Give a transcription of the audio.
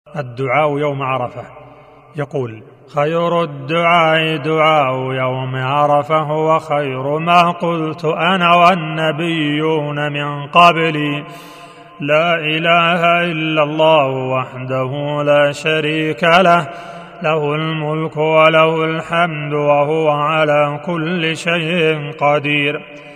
الدعاء يوم عرفة. يقول: خير الدعاء دعاء يوم عرفة، وخير ما قلت أنا والنبيون من قبلي، لا إله إلا الله وحده لا شريك له، له الملك وله الحمد وهو على كل شيء قدير.